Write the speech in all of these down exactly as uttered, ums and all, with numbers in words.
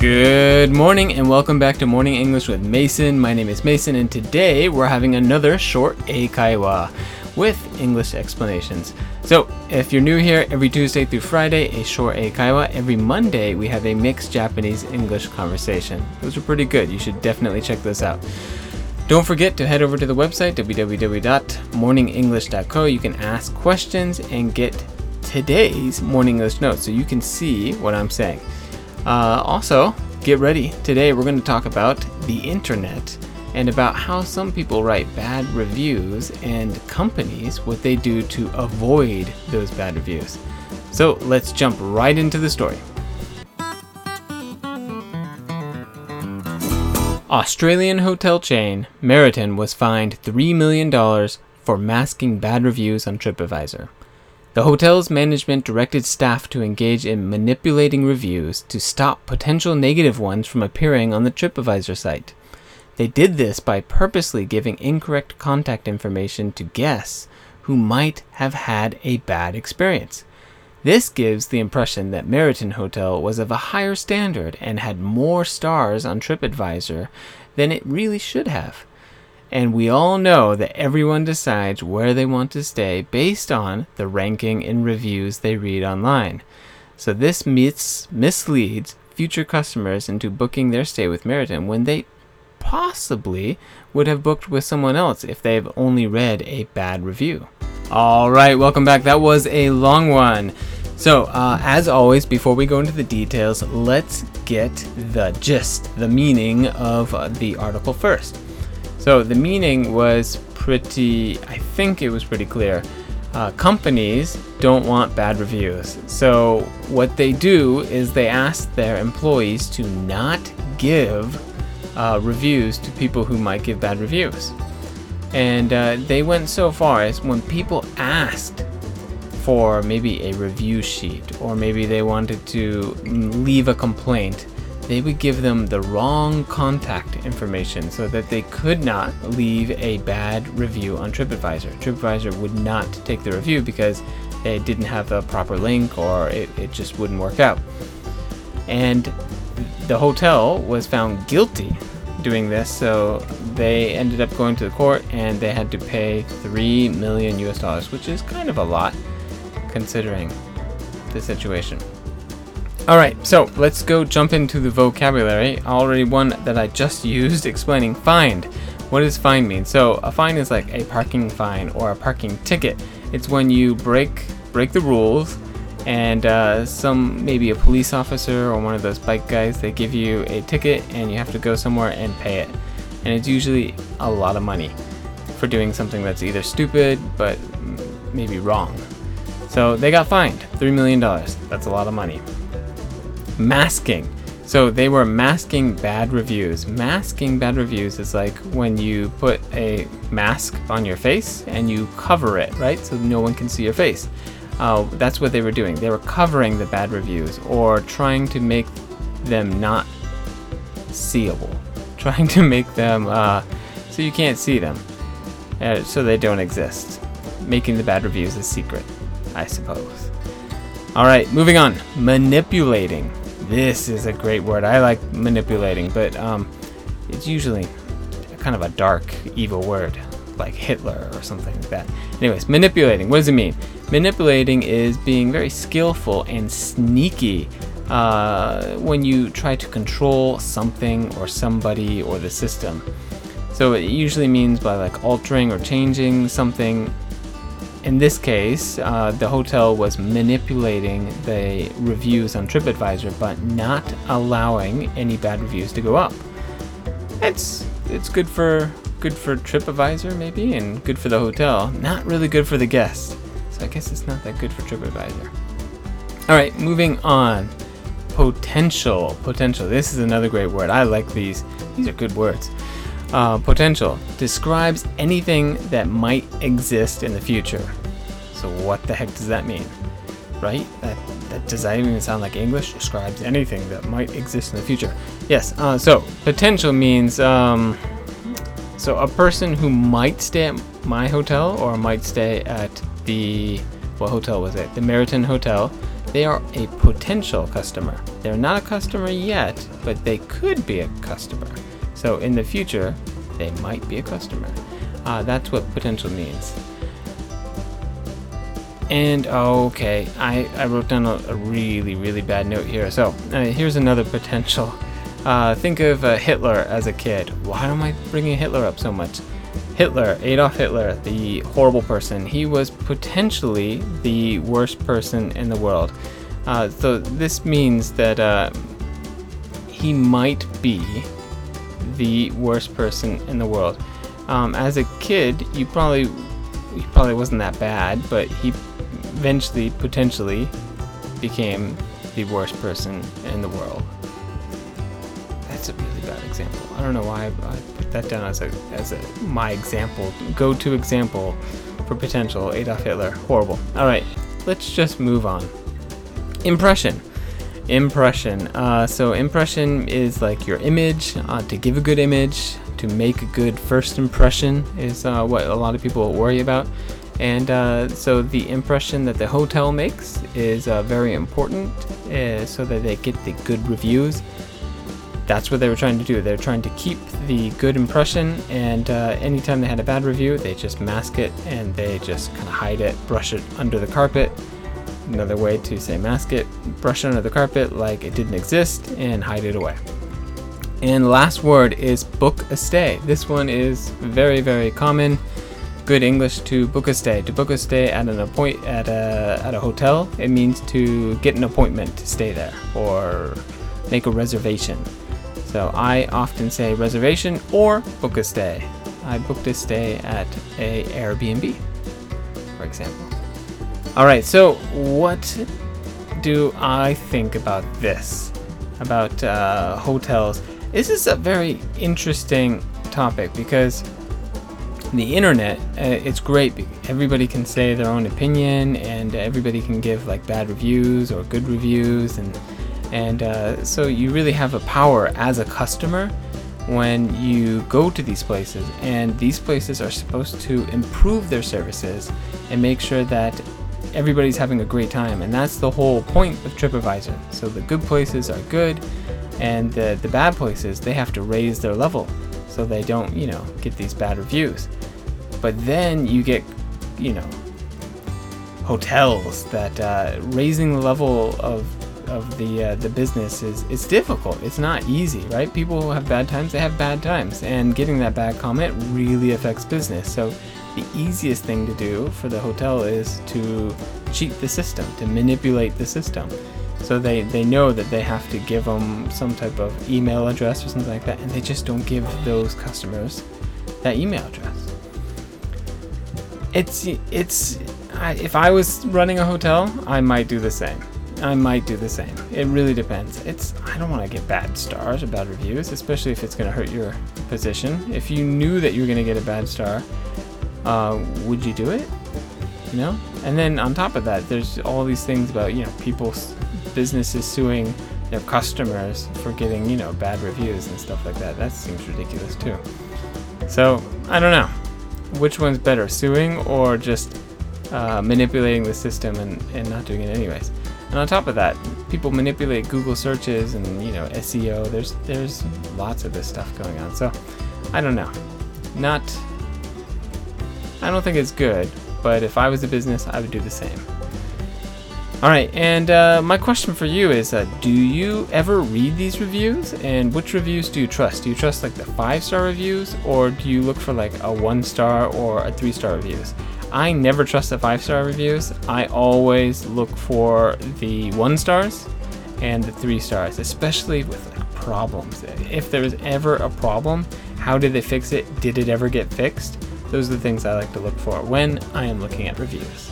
Good morning and welcome back to Morning English with Mason. My name is Mason and today we're having another short eikaiwa with English explanations. So if you're new here, every Tuesday through Friday, a short eikaiwa. Every Monday, we have a mixed Japanese-English conversation. Those are pretty good. You should definitely check those out. Don't forget to head over to the website, w w w dot morning english dot co. You can ask questions and get today's Morning English notes so you can see what I'm saying. Uh, also, get ready. Today we're going to talk about the internet and about how some people write bad reviews and companies, what they do to avoid those bad reviews. So let's jump right into the story. Australian hotel chain Meriton was fined three million dollars for masking bad reviews on TripAdvisor. The hotel's management directed staff to engage in manipulating reviews to stop potential negative ones from appearing on the TripAdvisor site. They did this by purposely giving incorrect contact information to guests who might have had a bad experience. This gives the impression that Meriton Hotel was of a higher standard and had more stars on TripAdvisor than it really should have. And we all know that everyone decides where they want to stay based on the ranking and reviews they read online. So this mis- misleads future customers into booking their stay with Meriton when they possibly would have booked with someone else if they've only read a bad review. All right, welcome back. That was a long one. So, uh, as always, before we go into the details, let's get the gist, the meaning of uh, the article first. So the meaning was pretty, I think it was pretty clear. Uh, companies don't want bad reviews. So what they do is they ask their employees to not give uh, reviews to people who might give bad reviews. And uh, they went so far as when people asked for maybe a review sheet or maybe they wanted to leave a complaint, they would give them the wrong contact information so that they could not leave a bad review on TripAdvisor. TripAdvisor would not take the review because it didn't have the proper link or it, it just wouldn't work out. And the hotel was found guilty doing this, so they ended up going to the court and they had to pay three million U S dollars, which is kind of a lot considering the situation. All right, so let's go jump into the vocabulary. Already one that I just used explaining fined. What does fine mean? So a fine is like a parking fine or a parking ticket. It's when you break break the rules and uh, some maybe a police officer or one of those bike guys, they give you a ticket and you have to go somewhere and pay it. And it's usually a lot of money for doing something that's either stupid but maybe wrong. So they got fined three million dollars. That's a lot of money. Masking. So they were masking bad reviews. Masking bad reviews is like when you put a mask on your face and you cover it, right? So no one can see your face. Uh, that's what they were doing. They were covering the bad reviews or trying to make them not seeable. Trying to make them uh, so you can't see them. Uh, so they don't exist. Making the bad reviews a secret, I suppose. All right, moving on. Manipulating. This is a great word. I like manipulating, but um, it's usually kind of a dark, evil word, like Hitler or something like that. Anyways, manipulating. What does it mean? Manipulating is being very skillful and sneaky uh, when you try to control something or somebody or the system. So it usually means by like altering or changing something. In this case, uh, the hotel was manipulating the reviews on TripAdvisor, but not allowing any bad reviews to go up. It's it's good for good for TripAdvisor maybe, and good for the hotel. Not really good for the guests. So I guess it's not that good for TripAdvisor. All right, moving on. Potential. Potential. This is another great word. I like these. These are good words. Uh, potential describes anything that might exist in the future. So what the heck does that mean? Right? That, that does that even sound like English? Describes anything that might exist in the future. Yes. Uh, so potential means um, so a person who might stay at my hotel or might stay at the what hotel was it? The Meriton Hotel they are a potential customer. They're not a customer yet, but they could be a customer. So in the future, they might be a customer. Uh, that's what potential means. And okay, I, I wrote down a, a really, really bad note here. So uh, here's another potential. Uh, think of uh, Hitler as a kid. Why am I bringing Hitler up so much? Hitler, Adolf Hitler, the horrible person. He was potentially the worst person in the world. Uh, so this means that uh, he might be the worst person in the world. Um, as a kid, you probably he probably wasn't that bad, but he eventually, potentially, became the worst person in the world. That's a really bad example. I don't know why I put that down as a as a my example, go-to example for potential. Adolf Hitler, horrible. All right, let's just move on. Impression. Impression. Uh, so impression is like your image. Uh, to give a good image, to make a good first impression is uh, what a lot of people worry about. And uh, so the impression that the hotel makes is uh, very important, uh, so that they get the good reviews. That's what they were trying to do. They're trying to keep the good impression, and uh, anytime they had a bad review, they just mask it and they just kind of hide it, brush it under the carpet. Another way to say mask it, brush it under the carpet like it didn't exist and hide it away. And the last word is book a stay. This one is very, very common. Good English to book a stay. To book a stay at an appoint at a at a hotel, it means to get an appointment to stay there or make a reservation. So I often say reservation or book a stay. I booked a stay at a Airbnb, for example. All right, so what do I think about this? About uh, hotels? This is a very interesting topic because the internet, uh, it's great. Everybody can say their own opinion, and everybody can give like bad reviews or good reviews, and and uh, so you really have a power as a customer when you go to these places, and these places are supposed to improve their services and make sure that everybody's having a great time, and that's the whole point of TripAdvisor. So the good places are good, and the the bad places, they have to raise their level so they don't, you know, get these bad reviews. But then you get, you know, hotels that uh, raising the level of of the uh, the business is is difficult. It's not easy, right? People who have bad times, they have bad times, and getting that bad comment really affects business. So the easiest thing to do for the hotel is to cheat the system, to manipulate the system. So they, they know that they have to give them some type of email address or something like that, and they just don't give those customers that email address. It's it's I, if I was running a hotel, I might do the same. I might do the same. It really depends. It's I don't want to get bad stars or bad reviews, especially if it's going to hurt your position. If you knew that you were going to get a bad star, uh, would you do it? You know? And then on top of that, there's all these things about, you know, people's businesses suing their customers for getting, you know, bad reviews and stuff like that. That seems ridiculous too. So I don't know. Which one's better, suing or just uh, manipulating the system and, and not doing it anyways? And on top of that, people manipulate Google searches and, you know, S E O. There's there's lots of this stuff going on. So I don't know. Not. I don't think it's good. But if I was a business, I would do the same. All right, and uh, my question for you is, uh, do you ever read these reviews? And which reviews do you trust? Do you trust like the five-star reviews, or do you look for like a one-star or a three-star reviews? I never trust the five-star reviews. I always look for the one stars and the three stars, especially with like, problems. If there was ever a problem, how did they fix it? Did it ever get fixed? Those are the things I like to look for when I am looking at reviews.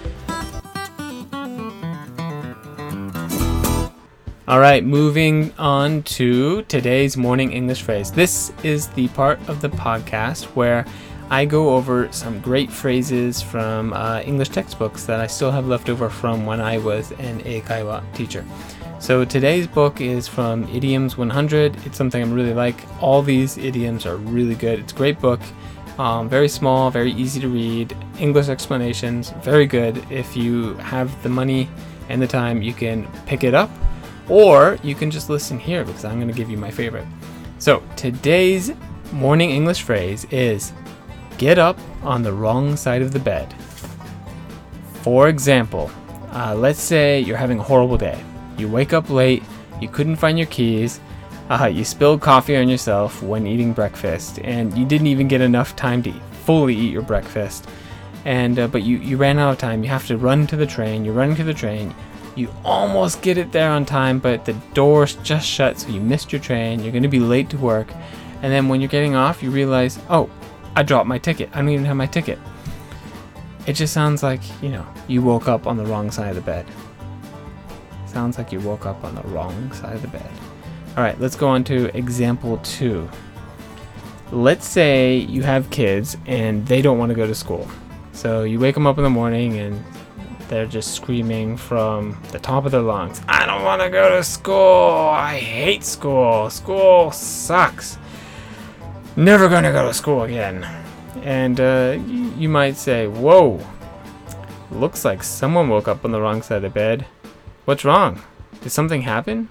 All right, moving on to today's morning English phrase. This is the part of the podcast where I go over some great phrases from uh, English textbooks that I still have left over from when I was an Eikaiwa teacher. So today's book is from Idioms one hundred. It's something I'm really like. All these idioms are really good. It's a great book. Um, very small, very easy to read. English explanations, very good. If you have the money and the time you can pick it up, or you can just listen here because I'm going to give you my favorite. So today's morning English phrase is get up on the wrong side of the bed. For example, uh, let's say you're having a horrible day. You wake up late, you couldn't find your keys, uh, you spilled coffee on yourself when eating breakfast, and you didn't even get enough time to fully eat your breakfast. And uh, but you, you ran out of time. You have to run to the train. You're running to the train. You almost get it there on time, but the door's just shut, so you missed your train. You're going to be late to work. And then when you're getting off, you realize, oh, I dropped my ticket. I don't even have my ticket. It just sounds like, you know, you woke up on the wrong side of the bed. Sounds like you woke up on the wrong side of the bed. All right, let's go on to example two. Let's say you have kids and they don't want to go to school. So you wake them up in the morning and they're just screaming from the top of their lungs, I don't want to go to school. I hate school. School sucks. Never going to go to school again. And uh, you, you might say, whoa, looks like someone woke up on the wrong side of the bed. What's wrong? Did something happen?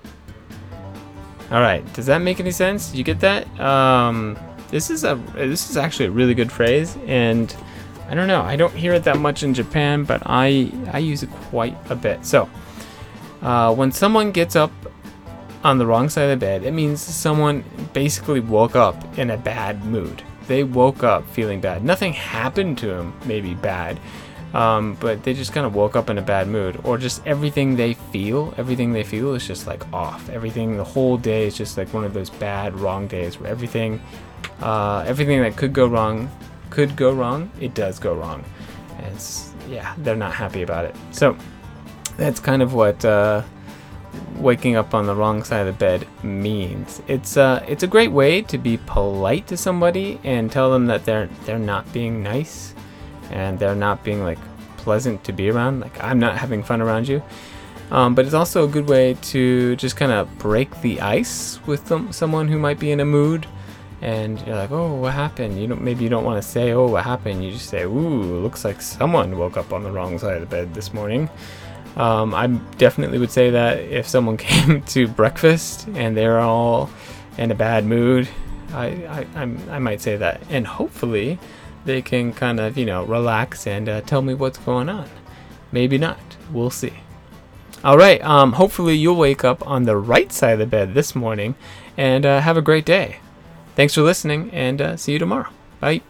All right, does that make any sense? Did you get that? Um, this is a this is actually a really good phrase, and I don't know, I don't hear it that much in Japan, but I I use it quite a bit. So, uh, when someone gets up on the wrong side of the bed, it means someone basically woke up in a bad mood. They woke up feeling bad. Nothing happened to them, maybe bad. Um, but they just kind of woke up in a bad mood, or just everything they feel, everything they feel is just like off. Everything, the whole day is just like one of those bad, wrong days where everything, uh, everything that could go wrong, could go wrong, it does go wrong. And it's, yeah, they're not happy about it. So that's kind of what uh, waking up on the wrong side of the bed means. It's uh, it's a great way to be polite to somebody and tell them that they're they're not being nice. And they're not being like pleasant to be around. Like, I'm not having fun around you. Um, but it's also a good way to just kind of break the ice with them, someone who might be in a mood. And you're like, oh, what happened? You don't. Maybe you don't want to say, oh, what happened? You just say, ooh, looks like someone woke up on the wrong side of the bed this morning. Um, I definitely would say that if someone came to breakfast and they're all in a bad mood, I I, I'm, I might say that. And hopefully they can kind of, you know, relax and uh, tell me what's going on. Maybe not. We'll see. All right. Um, hopefully you'll wake up on the right side of the bed this morning and uh, have a great day. Thanks for listening, and uh, see you tomorrow. Bye.